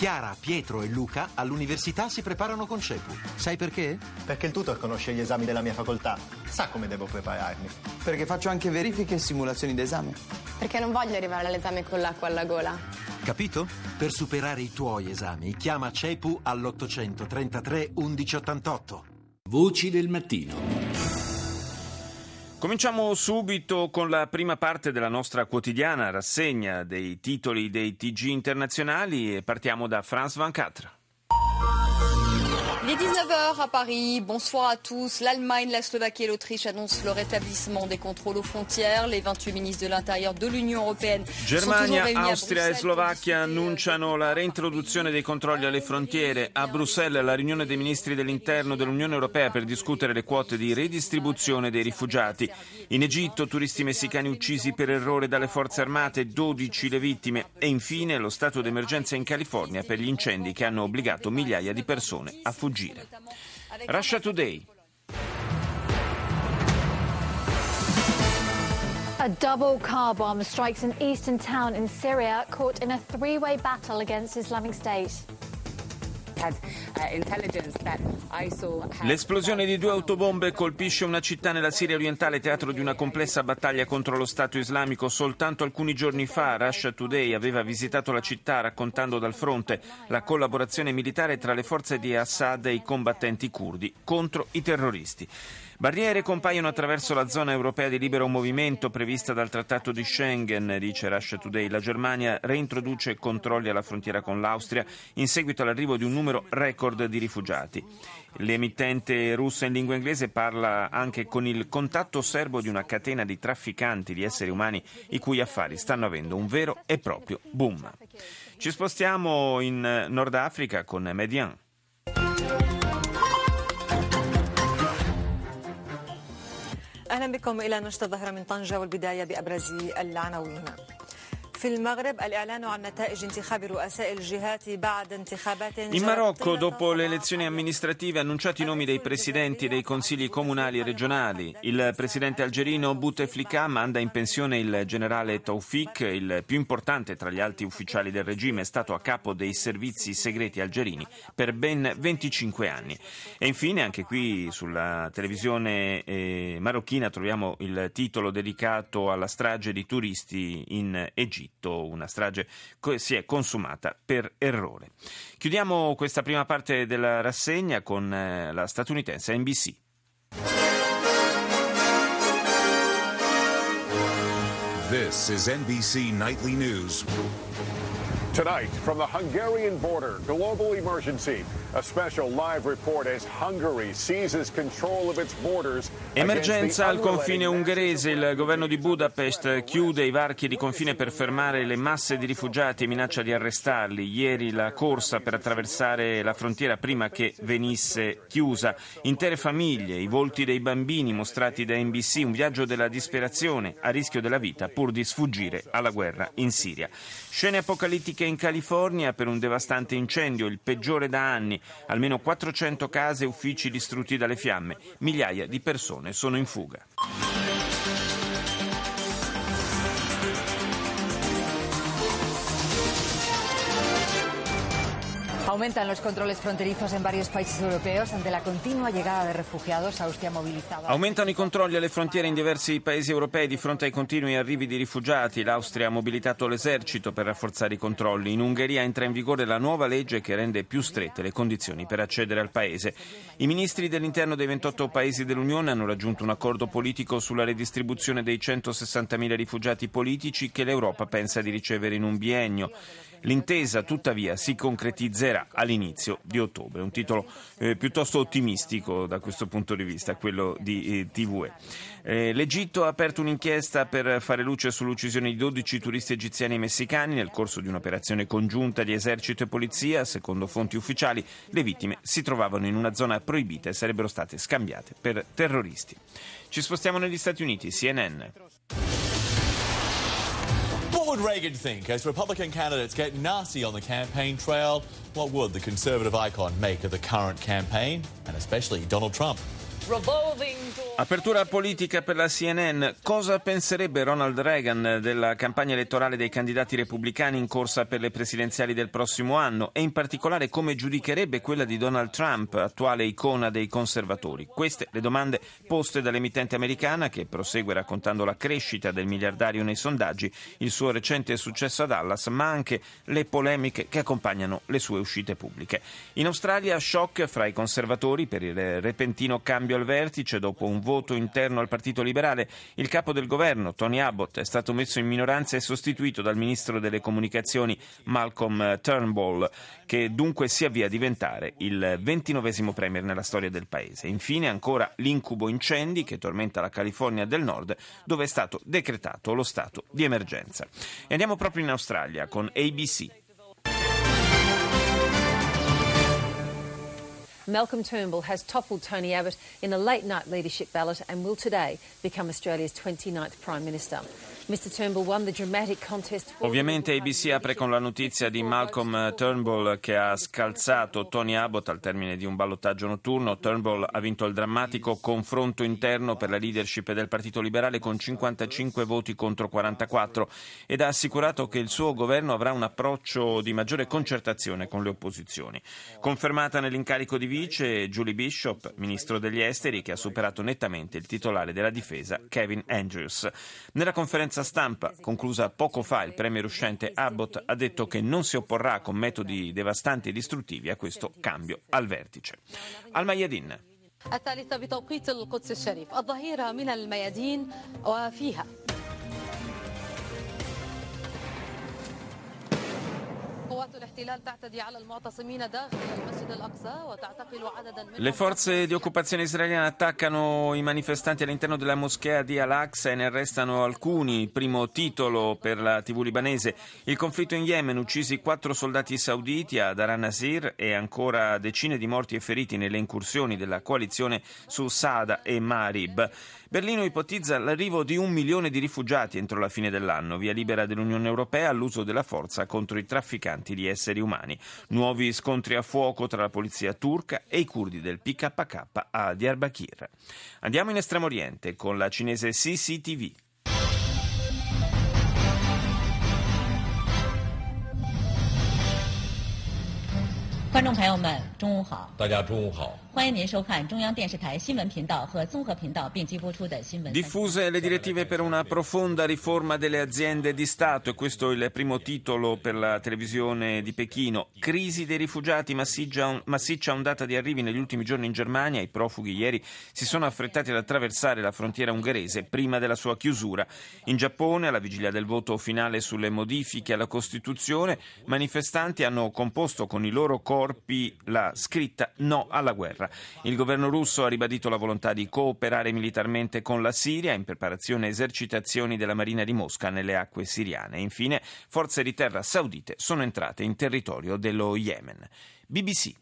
Chiara, Pietro e Luca all'università si preparano con CEPU. Sai perché? Perché il tutor conosce gli esami della mia facoltà. Sa come devo prepararmi. Perché faccio anche verifiche e simulazioni d'esame. Perché non voglio arrivare all'esame con l'acqua alla gola. Capito? Per superare i tuoi esami, chiama CEPU all'833 1188. Voci del mattino. Cominciamo subito con la prima parte della nostra quotidiana rassegna dei titoli dei TG internazionali e partiamo da France 24. Il est 19h à Paris, bonsoir à tous. L'Allemagne, la Slovaquie et l'Autriche annoncent le rétablissement des contrôles aux frontières. Les 28 ministres de l'Intérieur de l'Union européenne Germania, Austria e Slovacchia annunciano la reintroduzione dei controlli alle frontiere. A Bruxelles la riunione dei ministri dell'interno dell'Unione Europea per discutere le quote di redistribuzione dei rifugiati. In Egitto turisti messicani uccisi per errore dalle forze armate, 12 le vittime. E infine lo stato d'emergenza in California per gli incendi che hanno obbligato migliaia di persone a fuggire. Russia Today. A double car bomb strikes an eastern town in Syria, caught in a three-way battle against Islamic State. L'esplosione di 2 autobombe colpisce una città nella Siria orientale, teatro di una complessa battaglia contro lo Stato islamico. Soltanto alcuni giorni fa Russia Today aveva visitato la città raccontando dal fronte la collaborazione militare tra le forze di Assad e i combattenti curdi contro i terroristi. Barriere compaiono attraverso la zona europea di libero movimento prevista dal Trattato di Schengen, dice Russia Today. La Germania reintroduce controlli alla frontiera con l'Austria in seguito all'arrivo di un numero record di rifugiati. L'emittente russa in lingua inglese parla anche con il contatto serbo di una catena di trafficanti di esseri umani i cui affari stanno avendo un vero e proprio boom. Ci spostiamo in Nord Africa con Median. أهلا بكم إلى نشرة الظاهرة من طنجة والبداية بأبرز العناوين. In Marocco, dopo le elezioni amministrative, annunciati i nomi dei presidenti dei consigli comunali e regionali. Il presidente algerino Bouteflika manda in pensione il generale Taoufik, il più importante tra gli alti ufficiali del regime, è stato a capo dei servizi segreti algerini per ben 25 anni. E infine, anche qui sulla televisione marocchina troviamo il titolo dedicato alla strage di turisti in Egitto. Una strage si è consumata per errore. Chiudiamo questa prima parte della rassegna con la statunitense NBC. This is NBC Nightly News. Tonight, from the Hungarian border, global emergency. A special live report as Hungary seizes control of its borders. Emergenza al confine ungherese. Il governo di Budapest chiude i varchi di confine per fermare le masse di rifugiati e minaccia di arrestarli. Ieri la corsa per attraversare la frontiera prima che venisse chiusa. Intere famiglie, i volti dei bambini mostrati da NBC, un viaggio della disperazione a rischio della vita pur di sfuggire alla guerra in Siria. Scene apocalittiche in California per un devastante incendio, il peggiore da anni. Almeno 400 case e uffici distrutti dalle fiamme. Migliaia di persone sono in fuga. Aumentan los controles fronterizos en varios países europeos ante la continua llegada de refugiados. Austria ha movilizado. Aumentano i controlli alle frontiere in diversi paesi europei di fronte ai continui arrivi di rifugiati. L'Austria ha mobilitato l'esercito per rafforzare i controlli. In Ungheria entra in vigore la nuova legge che rende più strette le condizioni per accedere al paese. I ministri dell'interno dei 28 paesi dell'Unione hanno raggiunto un accordo politico sulla redistribuzione dei 160.000 rifugiati politici che l'Europa pensa di ricevere in un biennio. L'intesa, tuttavia, si concretizzerà all'inizio di ottobre. Un titolo piuttosto ottimistico da questo punto di vista, quello di TVE. L'Egitto ha aperto un'inchiesta per fare luce sull'uccisione di 12 turisti egiziani e messicani nel corso di un'operazione congiunta di esercito e polizia. Secondo fonti ufficiali, le vittime si trovavano in una zona proibita e sarebbero state scambiate per terroristi. Ci spostiamo negli Stati Uniti, CNN. What would Reagan think as Republican candidates get nasty on the campaign trail? What would the conservative icon make of the current campaign, and especially Donald Trump? Apertura politica per la CNN. Cosa penserebbe Ronald Reagan della campagna elettorale dei candidati repubblicani in corsa per le presidenziali del prossimo anno e in particolare come giudicherebbe quella di Donald Trump, attuale icona dei conservatori? Queste le domande poste dall'emittente americana che prosegue raccontando la crescita del miliardario nei sondaggi, il suo recente successo a Dallas, ma anche le polemiche che accompagnano le sue uscite pubbliche. In Australia, shock fra i conservatori per il repentino cambio al vertice dopo un voto interno al Partito Liberale. Il capo del governo, Tony Abbott, è stato messo in minoranza e sostituito dal ministro delle comunicazioni Malcolm Turnbull, che dunque si avvia a diventare il 29esimo premier nella storia del paese. Infine ancora l'incubo incendi che tormenta la California del Nord, dove è stato decretato lo stato di emergenza. E andiamo proprio in Australia con ABC. Malcolm Turnbull has toppled Tony Abbott in a late-night leadership ballot and will today become Australia's 29th Prime Minister. Mr. Turnbull won the dramatic contest. Ovviamente ABC apre con la notizia di Malcolm Turnbull che ha scalzato Tony Abbott al termine di un ballottaggio notturno. Turnbull ha vinto il drammatico confronto interno per la leadership del Partito Liberale con 55 voti contro 44 ed ha assicurato che il suo governo avrà un approccio di maggiore concertazione con le opposizioni. Confermata nell'incarico di vice Julie Bishop, ministro degli esteri, che ha superato nettamente il titolare della difesa Kevin Andrews. Nella conferenza stampa conclusa poco fa, il premier uscente Abbott ha detto che non si opporrà con metodi devastanti e distruttivi a questo cambio al vertice. Al Mayadin. الثالثة بتوقيت القدس الشريف الظهيرة من الميادين وفيها Le forze di occupazione israeliane attaccano i manifestanti all'interno della moschea di Al-Aqsa e ne arrestano alcuni. Primo titolo per la TV libanese. Il conflitto in Yemen, uccisi 4 soldati sauditi a Dar al-Nasir e ancora decine di morti e feriti nelle incursioni della coalizione su Saada e Marib. Berlino ipotizza l'arrivo di 1 milione di rifugiati entro la fine dell'anno, via libera dell'Unione Europea all'uso della forza contro i trafficanti di esseri umani. Nuovi scontri a fuoco tra la polizia turca e i curdi del PKK a Diyarbakir. Andiamo in Estremo Oriente con la cinese CCTV. 观众朋友们，中午好！大家中午好！欢迎您收看中央电视台新闻频道和综合频道并机播出的新闻。 Diffuse le direttive per una profonda riforma delle aziende di Stato, e questo è il primo titolo per la televisione di Pechino. Crisi dei rifugiati, massiccia ondata di arrivi negli ultimi giorni in Germania. I profughi ieri si sono affrettati ad attraversare la frontiera ungherese prima della sua chiusura. In Giappone, alla vigilia del voto finale sulle modifiche alla Costituzione, manifestanti hanno composto con i loro corpi la scritta "No alla guerra". Il governo russo ha ribadito la volontà di cooperare militarmente con la Siria in preparazione a esercitazioni della Marina di Mosca nelle acque siriane. Infine, forze di terra saudite sono entrate in territorio dello Yemen. BBC.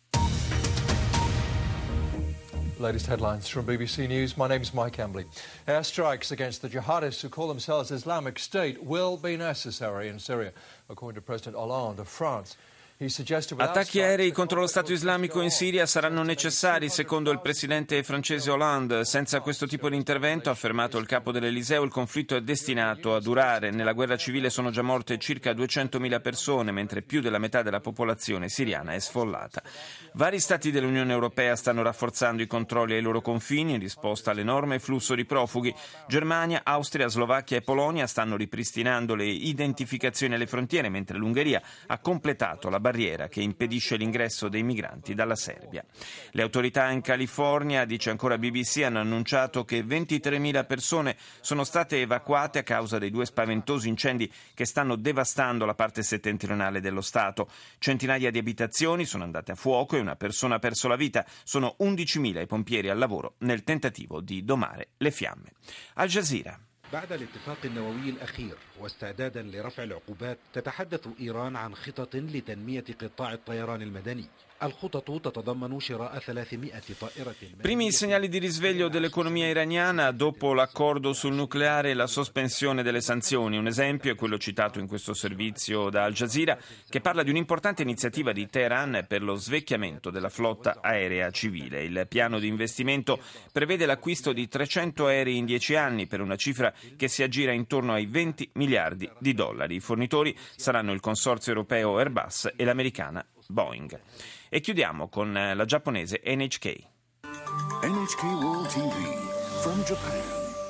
Latest headlines from BBC News. My name is Mike Embley. Airstrikes against the jihadists who call themselves Islamic State will be necessary in Syria, according to President Hollande of France. Attacchi aerei contro lo Stato islamico in Siria saranno necessari, secondo il presidente francese Hollande. Senza questo tipo di intervento, ha affermato il capo dell'Eliseo, il conflitto è destinato a durare. Nella guerra civile sono già morte circa 200.000 persone, mentre più della metà della popolazione siriana è sfollata. Vari stati dell'Unione Europea stanno rafforzando i controlli ai loro confini in risposta all'enorme flusso di profughi. Germania, Austria, Slovacchia e Polonia stanno ripristinando le identificazioni alle frontiere, mentre l'Ungheria ha completato la barriera che impedisce l'ingresso dei migranti dalla Serbia. Le autorità in California, dice ancora BBC, hanno annunciato che 23.000 persone sono state evacuate a causa dei 2 spaventosi incendi che stanno devastando la parte settentrionale dello Stato. Centinaia di abitazioni sono andate a fuoco e una persona ha perso la vita. Sono 11.000 i pompieri al lavoro nel tentativo di domare le fiamme. Al Jazeera. بعد الاتفاق النووي الأخير واستعدادا لرفع العقوبات تتحدث إيران عن خطط لتنمية قطاع الطيران المدني. الخطط تتضمن شراء 300 طائرة. Primi segnali di risveglio dell'economia iraniana dopo l'accordo sul nucleare e la sospensione delle sanzioni. Un esempio è quello citato in questo servizio da Al Jazeera, che parla di un'importante iniziativa di Teheran per lo svecchiamento della flotta aerea civile. Il piano di investimento prevede l'acquisto di 300 aerei in 10 anni per una cifra che si aggira intorno ai 20 miliardi di dollari. I fornitori saranno il consorzio europeo Airbus e l'americana Boeing. E chiudiamo con la giapponese NHK. NHK World TV from Japan.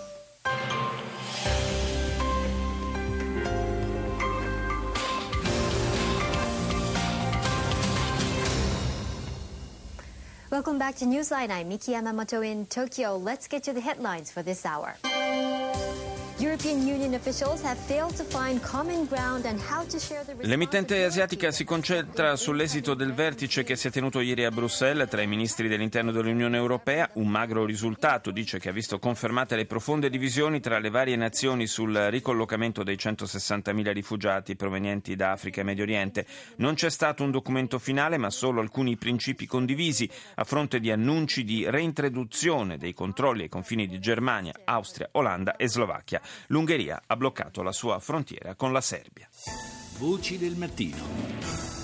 Welcome back to Newsline. I'm Miki Yamamoto in Tokyo. Let's get to the headlines for this hour. European Union officials have failed to find common ground on how to share the L'emittente asiatica si concentra sull'esito del vertice che si è tenuto ieri a Bruxelles tra i ministri dell'interno dell'Unione Europea. Un magro risultato, dice, che ha visto confermate le profonde divisioni tra le varie nazioni sul ricollocamento dei 160.000 rifugiati provenienti da Africa e Medio Oriente. Non c'è stato un documento finale, ma solo alcuni principi condivisi a fronte di annunci di reintroduzione dei controlli ai confini di Germania, Austria, Olanda e Slovacchia. L'Ungheria ha bloccato la sua frontiera con la Serbia. Voci del mattino.